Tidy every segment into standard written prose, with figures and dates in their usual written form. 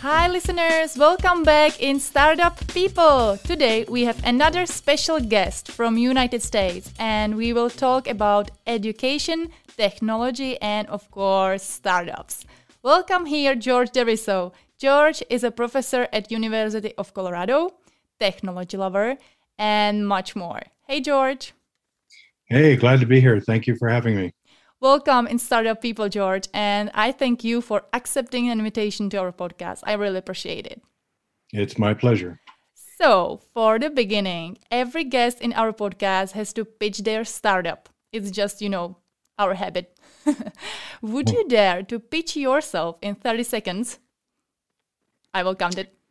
Hi listeners, welcome back in Startup People. Today we have another special guest from United States and we will talk about education, technology and of course startups. Welcome here George Deriso. George is a professor at University of Colorado, technology lover and much more. Hey George. Hey, glad to be here. Thank you for having me. Welcome in Startup People, George, and I thank you for accepting an invitation to our podcast. I really appreciate it. It's my pleasure. So, for the beginning, every guest in our podcast has to pitch their startup. It's just, our habit. Would you dare to pitch yourself in 30 seconds? I will count it.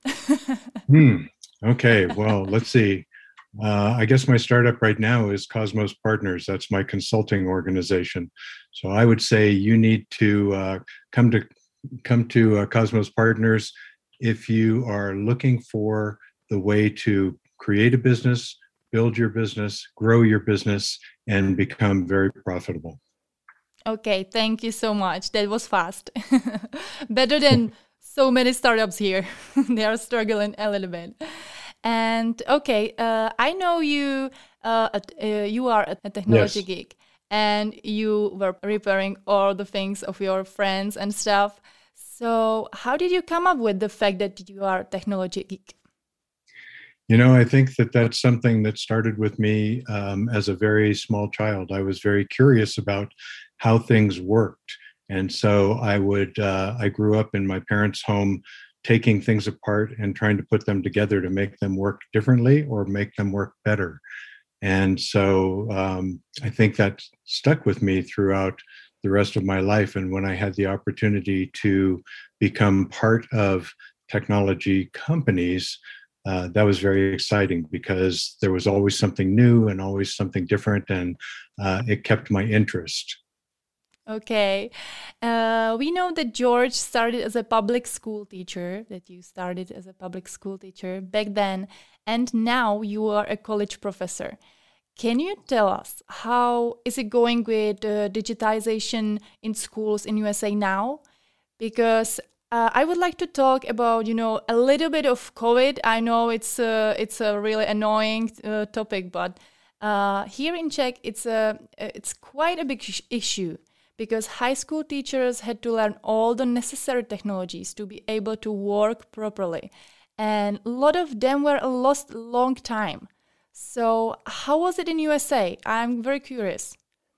Okay, well, let's see. I guess my startup right now is Cosmos Partners. That's my consulting organization. So I would say you need to come to Cosmos Partners if you are looking for the way to create a business, build your business, grow your business, and become very profitable. Okay, thank you so much. That was fast. Better than so many startups here. They are struggling a little bit. And okay, I know you you are a technology geek and you were repairing all the things of your friends and stuff. So how did you come up with the fact that you are a technology geek? I think that that's something that started with me as a very small child. I was very curious about how things worked. And so I grew up in my parents' home taking things apart and trying to put them together to make them work differently or make them work better. And so I think that stuck with me throughout the rest of my life. And when I had the opportunity to become part of technology companies, that was very exciting because there was always something new and always something different, and it kept my interest. Okay. We know that George started as a public school teacher, that you started as a public school teacher back then, and now you are a college professor. Can you tell us how is it going with digitization in schools in USA now? Because I would like to talk about, a little bit of COVID. I know it's a really annoying topic, but here in Czech, it's quite a big issue. Because high school teachers had to learn all the necessary technologies to be able to work properly. And a lot of them were lost a long time. So how was it in USA? I'm very curious.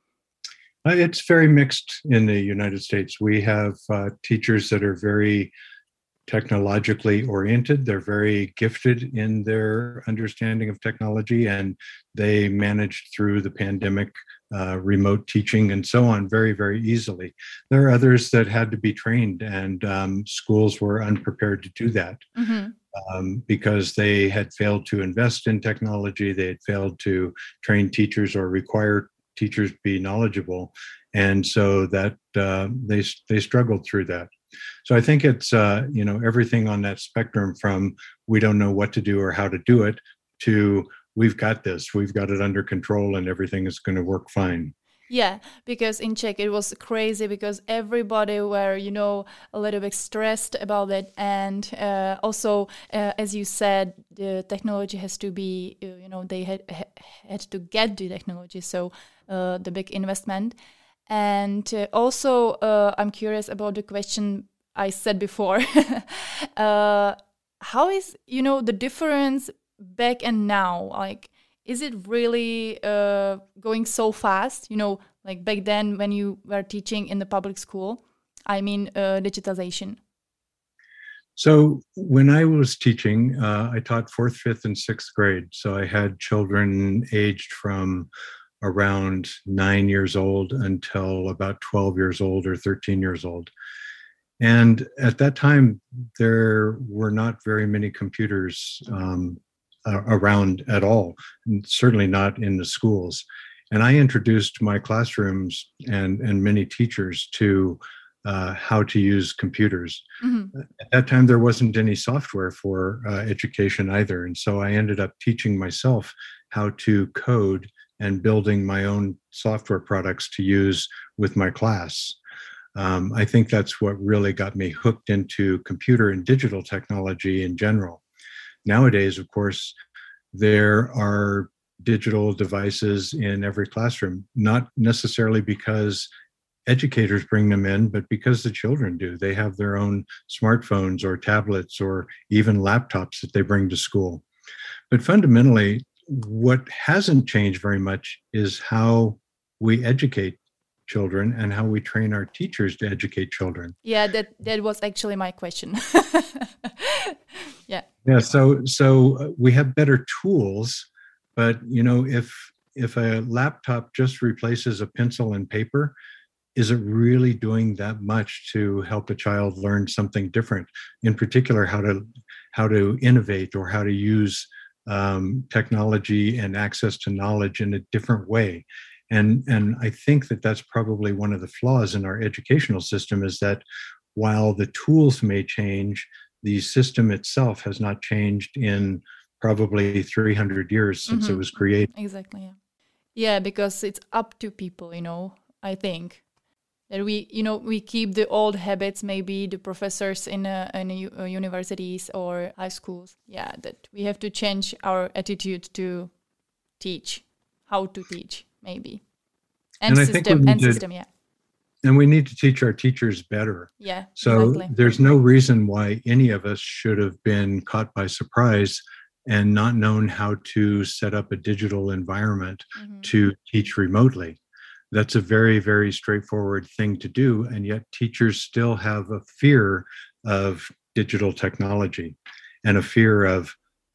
It's very mixed in the United States. We have teachers that are very technologically oriented. They're very gifted in their understanding of technology, and they managed through the pandemic, remote teaching and so on very, very easily. There are others that had to be trained, and schools were unprepared to do that because they had failed to invest in technology. They had failed to train teachers or require teachers be knowledgeable. And so that they struggled through that. So I think it's, everything on that spectrum from we don't know what to do or how to do it to we've got this, we've got it under control and everything is going to work fine. Yeah, because in Czech it was crazy because everybody were, a little bit stressed about it. And also, as you said, the technology has to be, they had to get the technology. So the big investment. And also, I'm curious about the question I said before. How is, the difference back and now? Like, is it really going so fast? Like back then when you were teaching in the public school? I mean, digitization. So when I was teaching, I taught 4th, 5th, and 6th grade. So I had children aged from around 9 years old until about 12 years old or 13 years old. And at that time, there were not very many computers around at all, and certainly not in the schools. And I introduced my classrooms and many teachers to how to use computers. Mm-hmm. At that time, there wasn't any software for education either. And so I ended up teaching myself how to code and building my own software products to use with my class. I think that's what really got me hooked into computer and digital technology in general. Nowadays, of course, there are digital devices in every classroom, not necessarily because educators bring them in, but because the children do. They have their own smartphones or tablets or even laptops that they bring to school. But fundamentally, what hasn't changed very much is how we educate children and how we train our teachers to educate children. Yeah, that was actually my question. Yeah. Yeah, so we have better tools, but if a laptop just replaces a pencil and paper, is it really doing that much to help a child learn something different? In particular, how to innovate or how to use technology and access to knowledge in a different way. And I think that that's probably one of the flaws in our educational system, is that while the tools may change, the system itself has not changed in probably 300 years since it was created. Exactly. Yeah. Yeah, because it's up to people, I think. That we keep the old habits, maybe the professors in universities or high schools. Yeah, that we have to change our attitude to teach, how to teach, maybe, and system. Yeah. And we need to teach our teachers better. Yeah. So exactly. There's no reason why any of us should have been caught by surprise and not known how to set up a digital environment to teach remotely. That's a very, very straightforward thing to do. And yet teachers still have a fear of digital technology and a fear of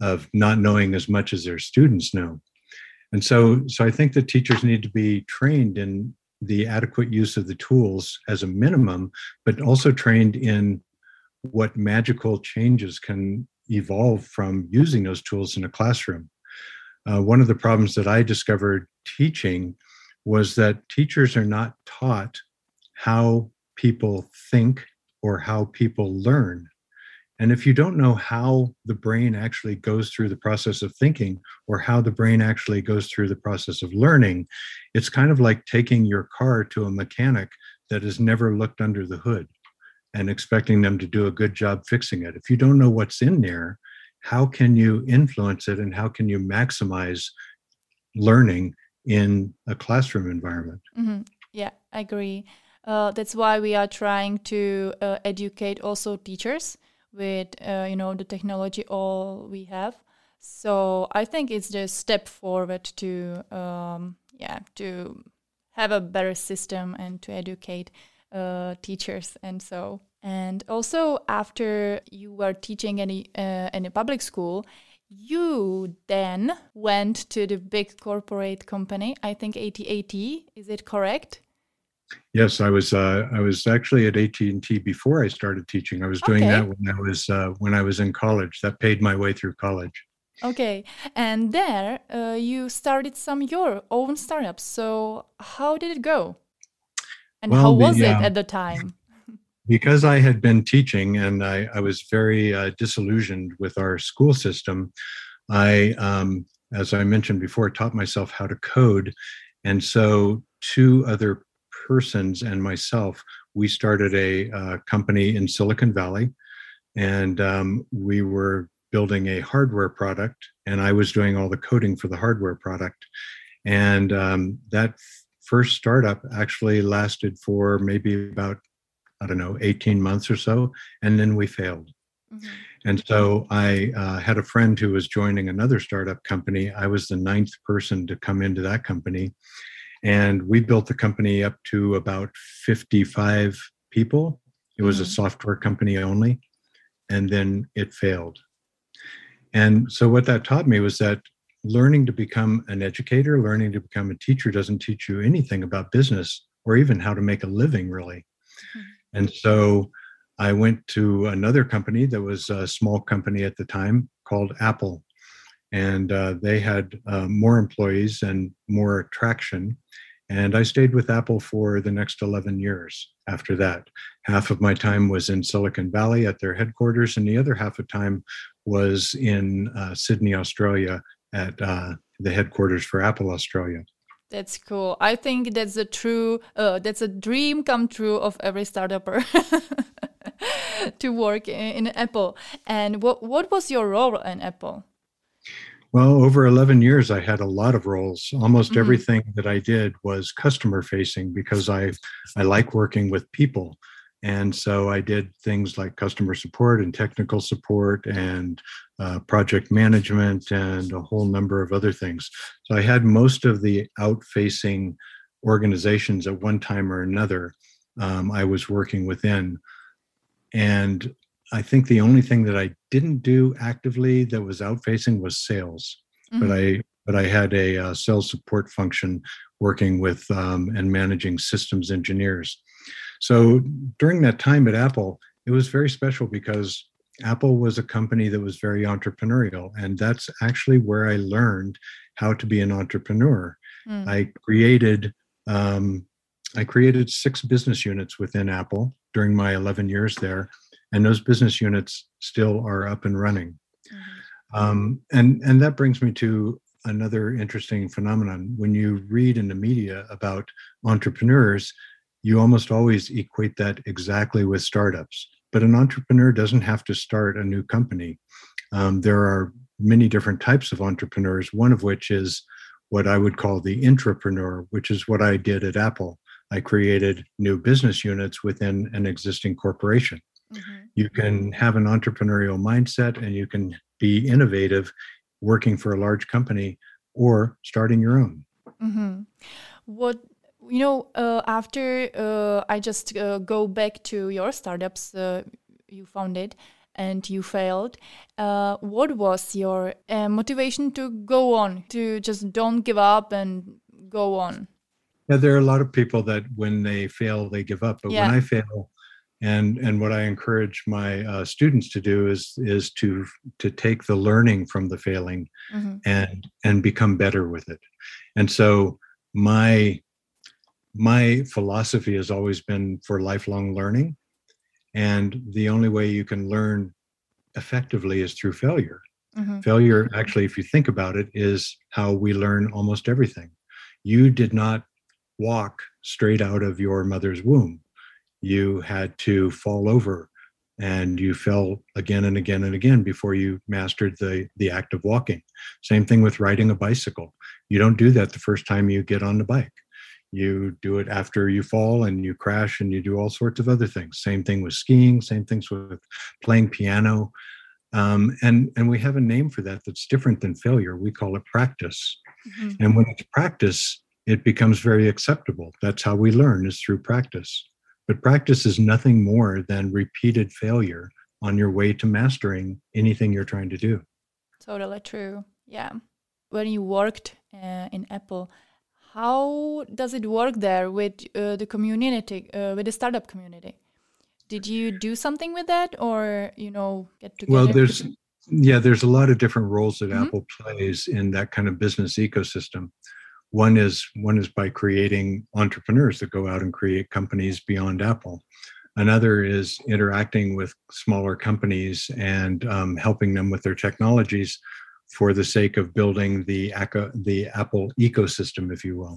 not knowing as much as their students know. And so I think that teachers need to be trained in the adequate use of the tools as a minimum, but also trained in what magical changes can evolve from using those tools in a classroom. One of the problems that I discovered teaching was that teachers are not taught how people think or how people learn. And if you don't know how the brain actually goes through the process of thinking or how the brain actually goes through the process of learning, it's kind of like taking your car to a mechanic that has never looked under the hood and expecting them to do a good job fixing it. If you don't know what's in there, how can you influence it and how can you maximize learning in a classroom environment? Yeah, I agree. That's why we are trying to educate also teachers with the technology all we have. So I think it's the step forward to to have a better system and to educate teachers. And also after you were teaching in a public school, you then went to the big corporate company, I think AT&T. Is it correct? Yes, I was actually at AT&T before I started teaching. I was doing that when I was in college. That paid my way through college. Okay, and there you started your own startups. So how did it go? And how was it at the time? Because I had been teaching and I was very disillusioned with our school system, I, as I mentioned before, taught myself how to code. And so two other persons and myself, we started a company in Silicon Valley, and we were building a hardware product, and I was doing all the coding for the hardware product. And that first startup actually lasted for maybe about, 18 months or so, and then we failed. And so I had a friend who was joining another startup company. I was the 9th person to come into that company. And we built the company up to about 55 people. It was a software company only. And then it failed. And so what that taught me was that learning to become an educator, learning to become a teacher doesn't teach you anything about business or even how to make a living, really. And so I went to another company that was a small company at the time called Apple. And they had more employees and more traction. And I stayed with Apple for the next 11 years after that. Half of my time was in Silicon Valley at their headquarters, and the other half of time was in Sydney, Australia at the headquarters for Apple Australia. That's cool. I think that's that's a dream come true of every startupper to work in Apple. And what was your role in Apple? Well, over 11 years, I had a lot of roles. Almost Mm-hmm. everything that I did was customer facing because I like working with people. And so I did things like customer support and technical support and project management and a whole number of other things. So I had most of the out-facing organizations at one time or another I was working within. And I think the only thing that I didn't do actively that was out-facing was sales. Mm-hmm. But I had a sales support function working with and managing systems engineers. So during that time at Apple, it was very special because Apple was a company that was very entrepreneurial, and that's actually where I learned how to be an entrepreneur. Mm. I created 6 business units within Apple during my 11 years there, and those business units still are up and running. And that brings me to another interesting phenomenon. When you read in the media about entrepreneurs, you almost always equate that exactly with startups. But an entrepreneur doesn't have to start a new company. There are many different types of entrepreneurs, one of which is what I would call the intrapreneur, which is what I did at Apple. I created new business units within an existing corporation. Mm-hmm. You can have an entrepreneurial mindset and you can be innovative working for a large company or starting your own. Mm-hmm. After I just go back to your startups you founded and you failed, what was your motivation to go on, to just don't give up and go on? Yeah, there are a lot of people that when they fail, they give up. But when I fail, and what I encourage my students to do is to take the learning from the failing and become better with it. And so my philosophy has always been for lifelong learning. And the only way you can learn effectively is through failure. Mm-hmm. Failure, actually, if you think about it, is how we learn almost everything. You did not walk straight out of your mother's womb. You had to fall over and you fell again and again and again before you mastered the act of walking. Same thing with riding a bicycle. You don't do that the first time you get on the bike. You do it after you fall and you crash and you do all sorts of other things. Same thing with skiing, same things with playing piano. And we have a name for that that's different than failure. We call it practice. Mm-hmm. And when it's practice, it becomes very acceptable. That's how we learn, is through practice. But practice is nothing more than repeated failure on your way to mastering anything you're trying to do. Totally true. Yeah. When you worked in Apple, how does it work there with the community, with the startup community? Did you do something with that, or get together? Well, there's a lot of different roles that Apple plays in that kind of business ecosystem. One is by creating entrepreneurs that go out and create companies beyond Apple. Another is interacting with smaller companies and helping them with their technologies for the sake of building the Apple ecosystem, if you will.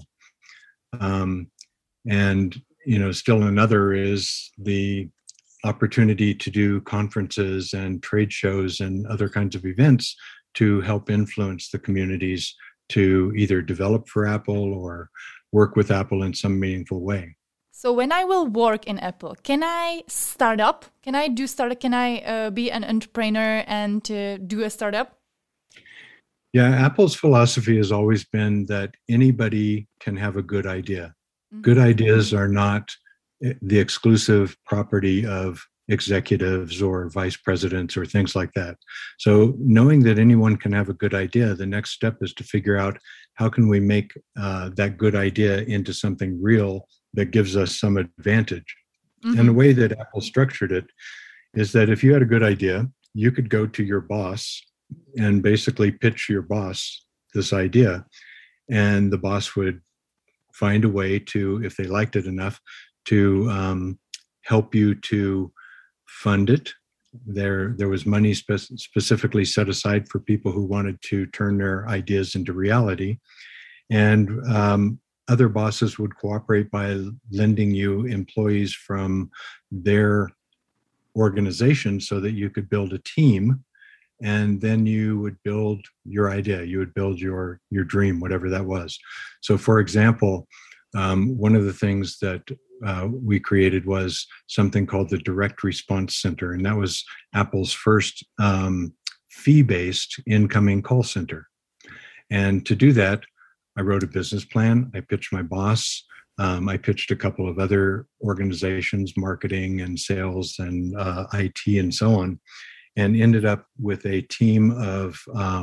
And still another is the opportunity to do conferences and trade shows and other kinds of events to help influence the communities to either develop for Apple or work with Apple in some meaningful way. So when I will work in Apple, can I start up? Can I do startup? Can I be an entrepreneur and do a startup? Yeah, Apple's philosophy has always been that anybody can have a good idea. Mm-hmm. Good ideas are not the exclusive property of executives or vice presidents or things like that. So knowing that anyone can have a good idea, the next step is to figure out how can we make that good idea into something real that gives us some advantage. Mm-hmm. And the way that Apple structured it is that if you had a good idea, you could go to your boss and basically pitch your boss this idea, and the boss would find a way to, if they liked it enough, to help you to fund it. There was money specifically set aside for people who wanted to turn their ideas into reality. And other bosses would cooperate by lending you employees from their organization so that you could build a team, and then you would build your idea, you would build your dream, whatever that was. So for example, one of the things that we created was something called the Direct Response Center, and that was Apple's first fee-based incoming call center. And to do that, I wrote a business plan. I pitched my boss. I pitched a couple of other organizations, marketing and sales and IT and so on, and ended up with a team of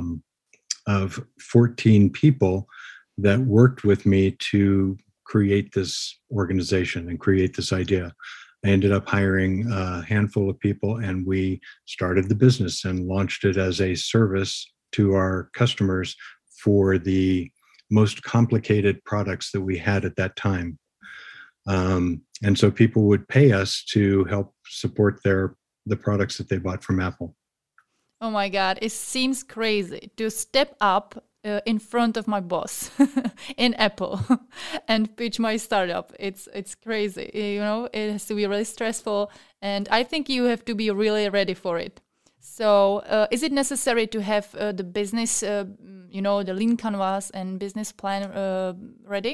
14 people that worked with me to create this organization and create this idea. I ended up hiring a handful of people, and we started the business and launched it as a service to our customers for the most complicated products that we had at that time. And so people would pay us to help support the products that they bought from Apple. Oh my God, it seems crazy to step up in front of my boss in Apple and pitch my startup. It's crazy, it has to be really stressful, and I think you have to be really ready for it. So is it necessary to have the business, the lean canvas and business plan ready?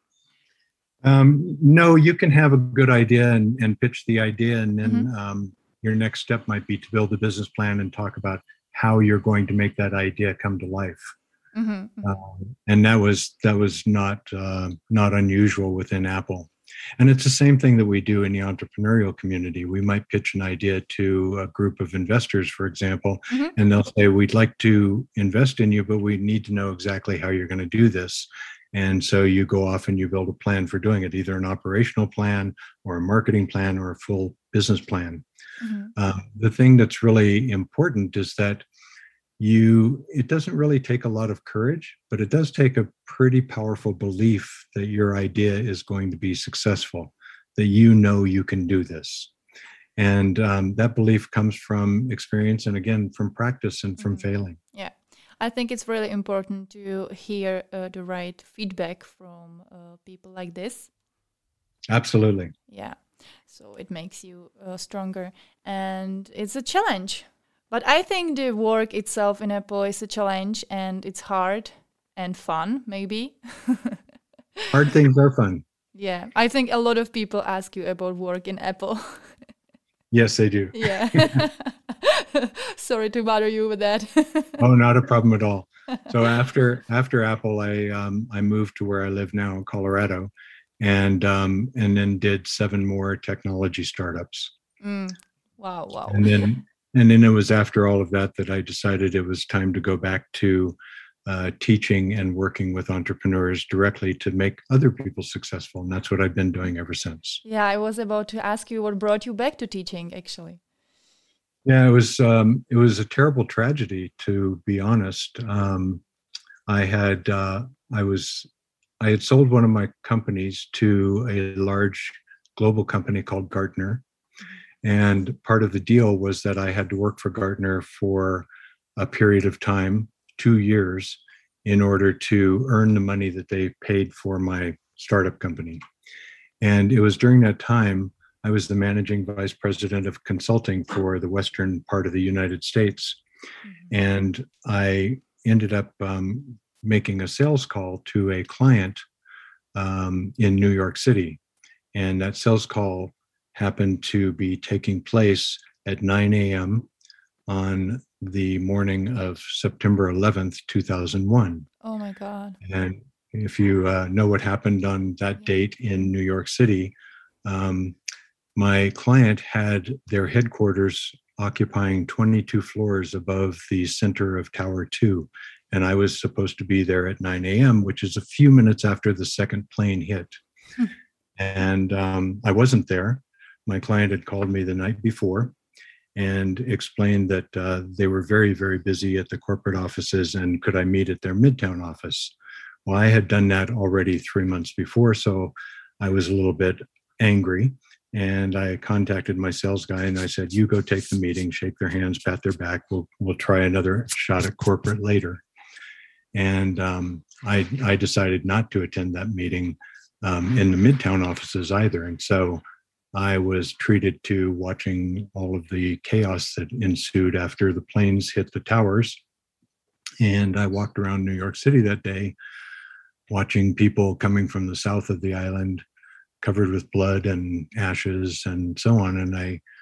No, you can have a good idea and pitch the idea, and then your next step might be to build a business plan and talk about how you're going to make that idea come to life. And that was not unusual within Apple. And it's the same thing that we do in the entrepreneurial community. We might pitch an idea to a group of investors, for example, and they'll say, we'd like to invest in you, but we need to know exactly how you're going to do this. And so you go off and you build a plan for doing it, either an operational plan or a marketing plan or a full business plan. The thing that's really important is that it doesn't really take a lot of courage, but it does take a pretty powerful belief that your idea is going to be successful, that you can do this. And that belief comes from experience and, again, from practice and from failing. Yeah, I think it's really important to hear the right feedback from people like this. Absolutely. Yeah, so it makes you stronger. And it's a challenge. But I think the work itself in Apple is a challenge, and it's hard and fun, maybe. Hard things are fun. Yeah, I think a lot of people ask you about work in Apple. Yes, they do. Yeah. Sorry to bother you with that. Oh, not a problem at all. So after Apple, I moved to where I live now in Colorado, and then did 7 more technology startups. Wow. And then it was after all of that I decided it was time to go back to teaching and working with entrepreneurs directly to make other people successful. And that's what I've been doing ever since. Yeah, I was about to ask you what brought you back to teaching, actually. Yeah, it was a terrible tragedy, to be honest. I had sold one of my companies to a large global company called Gartner. And part of the deal was that I had to work for Gartner for a period of time, 2 years, in order to earn the money that they paid for my startup company. And it was during that time, I was the managing vice president of consulting for the western part of the United States. And I ended up making a sales call to a client in New York City. And that sales call happened to be taking place at 9 a.m. on the morning of September 11th, 2001. Oh my God. And if you know what happened on that date in New York City, my client had their headquarters occupying 22 floors above the center of Tower 2. And I was supposed to be there at 9 a.m., which is a few minutes after the second plane hit. And I wasn't there. My client had called me the night before and explained that they were very, very busy at the corporate offices, and could I meet at their Midtown office? Well, I had done that already 3 months before, so I was a little bit angry, and I contacted my sales guy and I said, you go take the meeting, shake their hands, pat their back. We'll try another shot at corporate later. And I decided not to attend that meeting in the Midtown offices either. And so I was treated to watching all of the chaos that ensued after the planes hit the towers. And I walked around New York City that day, watching people coming from the south of the island covered with blood and ashes and so on. And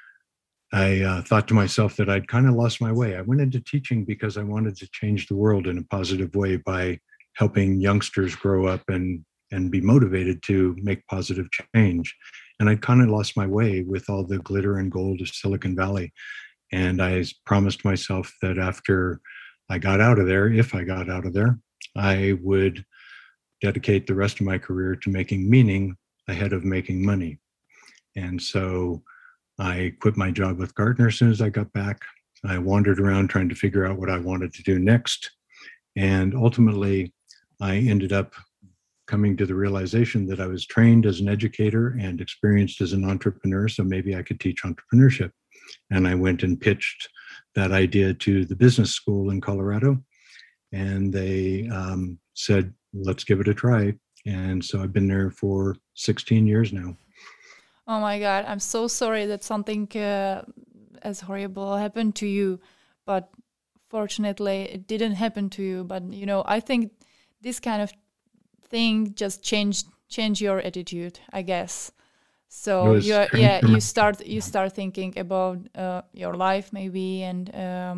I thought to myself that I'd kind of lost my way. I went into teaching because I wanted to change the world in a positive way by helping youngsters grow up and be motivated to make positive change. And I'd kind of lost my way with all the glitter and gold of Silicon Valley. And I promised myself that after I got out of there, if I got out of there, I would dedicate the rest of my career to making meaning ahead of making money. And so I quit my job with Gartner as soon as I got back. I wandered around trying to figure out what I wanted to do next. And ultimately, I ended up coming to the realization that I was trained as an educator and experienced as an entrepreneur, so maybe I could teach entrepreneurship. And I went and pitched that idea to the business school in Colorado. And they said, let's give it a try. And so I've been there for 16 years now. Oh my God, I'm so sorry that something as horrible happened to you, but fortunately it didn't happen to you. But I think this kind of thing just change your attitude, I guess. So you start thinking about your life maybe, and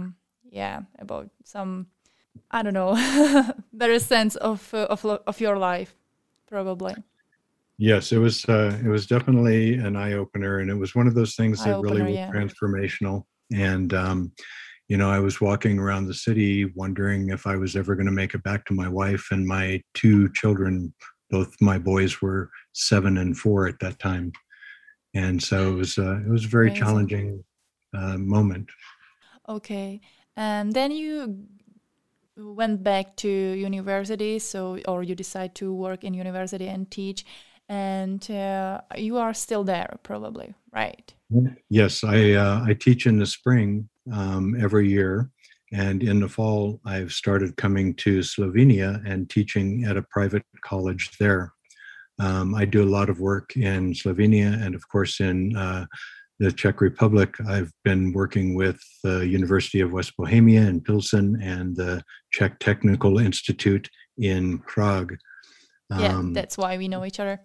about some, I don't know, better sense of your life, probably. Yes, it was definitely an eye-opener, and it was one of those things that really was transformational. And I was walking around the city wondering if I was ever going to make it back to my wife and my two children. Both my boys were 7 and 4 at that time, and so it was a very challenging moment. Okay, and then you went back to university, or you decide to work in university and teach. And you are still there, probably, right? Yes, I teach in the spring every year, and in the fall I've started coming to Slovenia and teaching at a private college there. I do a lot of work in Slovenia, and of course in the Czech Republic. I've been working with the University of West Bohemia in Pilsen and the Czech Technical Institute in Prague. Yeah, that's why we know each other.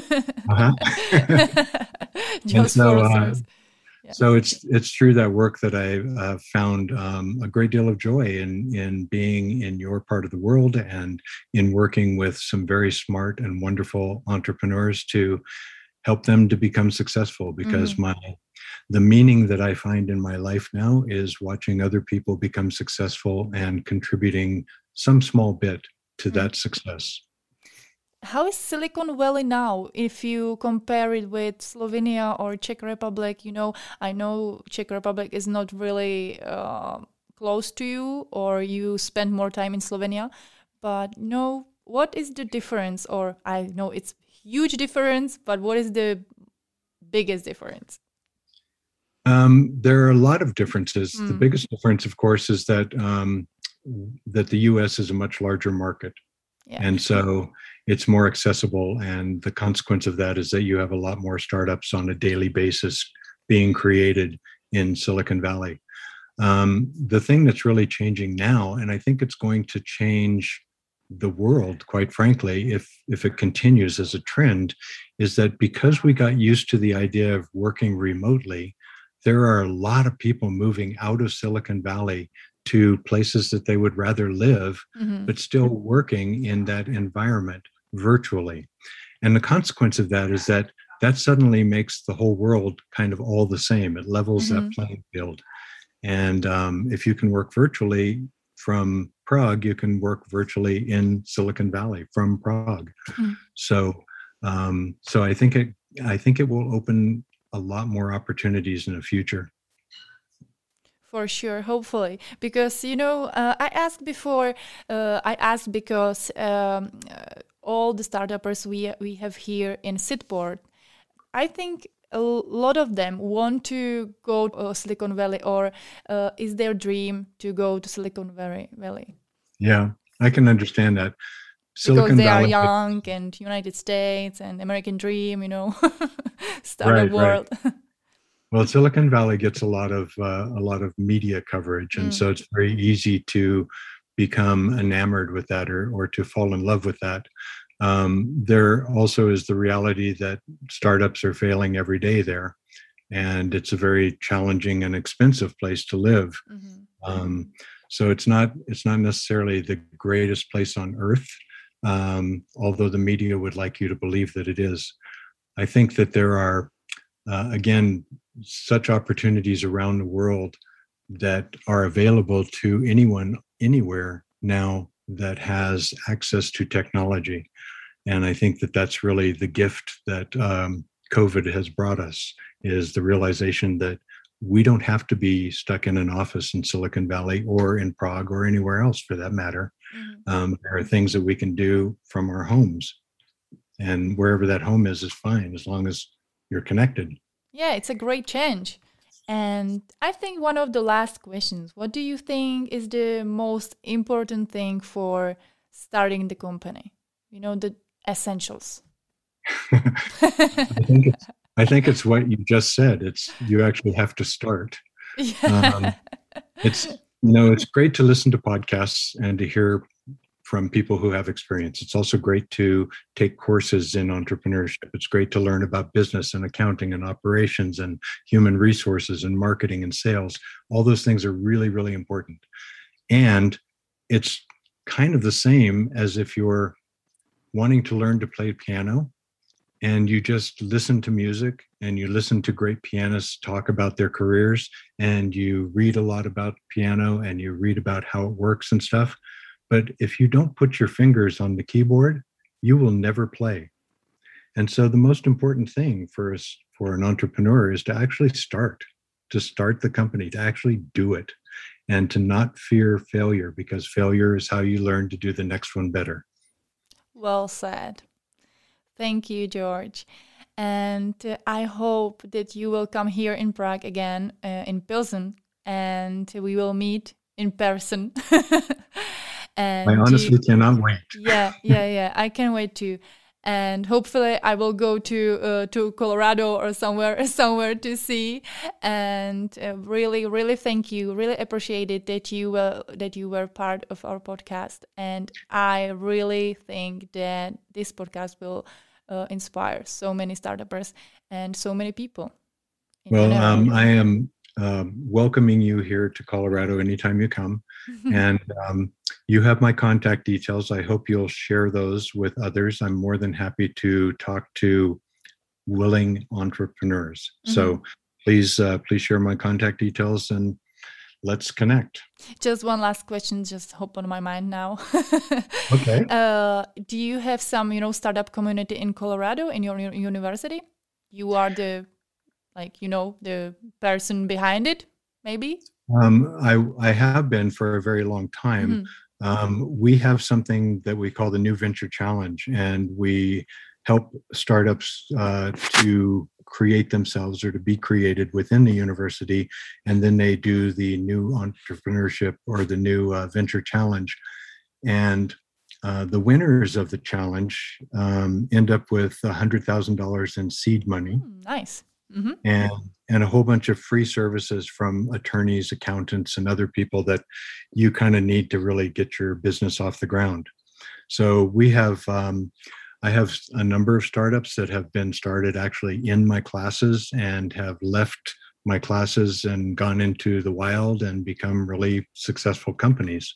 So it's through that work that I found a great deal of joy in being in your part of the world and in working with some very smart and wonderful entrepreneurs to help them to become successful. Because the meaning that I find in my life now is watching other people become successful and contributing some small bit to that success. How is Silicon Valley now if you compare it with Slovenia or Czech Republic? I know Czech Republic is not really close to you, or you spend more time in Slovenia. But what is the difference? Or I know it's huge difference, but what is the biggest difference? There are a lot of differences. The biggest difference, of course, is that the U.S. is a much larger market. Yeah. And so it's more accessible. And the consequence of that is that you have a lot more startups on a daily basis being created in Silicon Valley. The thing that's really changing now, and I think it's going to change the world, quite frankly, if it continues as a trend, is that because we got used to the idea of working remotely, there are a lot of people moving out of Silicon Valley to places that they would rather live, but still working in that environment virtually. And the consequence of that is that suddenly makes the whole world kind of all the same. It levels that playing field. And if you can work virtually from Prague, you can work virtually in Silicon Valley from Prague. So I think it will open a lot more opportunities in the future. For sure, hopefully, because I asked before. I asked because all the startups we have here in Sydport, I think a lot of them want to go to Silicon Valley, or is their dream to go to Silicon Valley. Yeah, I can understand that. Because Silicon they are Valley. young and United States and American dream, startup Right, right. world. Well, Silicon Valley gets a lot of media coverage, and Mm, so it's very easy to become enamored with that, or to fall in love with that. There also is the reality that startups are failing every day there, and it's a very challenging and expensive place to live. mhm. Um, so it's not necessarily the greatest place on earth, although the media would like you to believe that it is. I think that there are, again, such opportunities around the world that are available to anyone anywhere now that has access to technology. And I think that that's really the gift that COVID has brought us, is the realization that we don't have to be stuck in an office in Silicon Valley or in Prague or anywhere else for that matter. Mhm. There are things that we can do from our homes, and wherever that home is fine as long as you're connected. Yeah, it's a great change. And I think one of the last questions, what do you think is the most important thing for starting the company? The essentials. I think it's what you just said. It's you actually have to start. Yeah. Um, it's great to listen to podcasts and to hear from people who have experience. It's also great to take courses in entrepreneurship. It's great to learn about business and accounting and operations and human resources and marketing and sales. All those things are really, really important. And it's kind of the same as if you're wanting to learn to play piano and you just listen to music and you listen to great pianists talk about their careers and you read a lot about piano and you read about how it works and stuff. But if you don't put your fingers on the keyboard, you will never play. And so the most important thing for an entrepreneur is to actually to start the company, to actually do it, and to not fear failure, because failure is how you learn to do the next one better. Well said. Thank you, George. And I hope that you will come here in Prague again, in Pilsen, and we will meet in person. I And honestly cannot wait. yeah. I can't wait to. And hopefully, I will go to Colorado or somewhere to see. And really, really thank you. Really appreciate it that you were part of our podcast. And I really think that this podcast will inspire so many startups and so many people in Well, general. I am welcoming you here to Colorado anytime you come. And you have my contact details. I hope you'll share those with others. I'm more than happy to talk to willing entrepreneurs. So please share my contact details and let's connect. Just one last question, just hop on my mind now. Okay. Do you have some, startup community in Colorado in your university? You are the the person behind it, maybe? I have been for a very long time. We have something that we call the New Venture Challenge, and we help startups to create themselves or to be created within the university. And then they do the new entrepreneurship or the new venture challenge. And the winners of the challenge end up with $100,000 in seed money. Nice. And a whole bunch of free services from attorneys, accountants, and other people that you kind of need to really get your business off the ground. So I have a number of startups that have been started actually in my classes and have left my classes and gone into the wild and become really successful companies.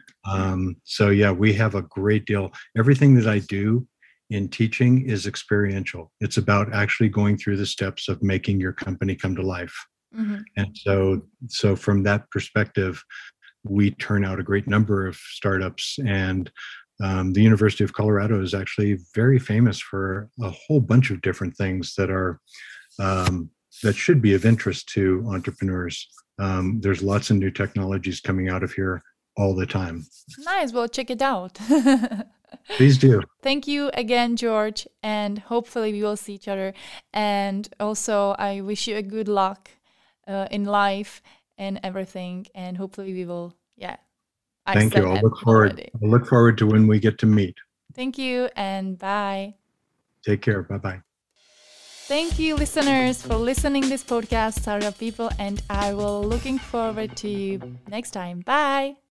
So yeah, we have a great deal. Everything that I do in teaching is experiential. It's about actually going through the steps of making your company come to life. And so from that perspective, we turn out a great number of startups. And the University of Colorado is actually very famous for a whole bunch of different things that are that should be of interest to entrepreneurs. There's lots of new technologies coming out of here all the time. Nice. Well, check it out. Please do. Thank you again, George, and hopefully we will see each other. And also, I wish you a good luck in life and everything. And hopefully we will, Thank you. I'll look forward to when we get to meet. Thank you and bye. Take care. Bye-bye. Thank you, listeners, for listening this podcast, Startup People, and I will looking forward to you next time. Bye.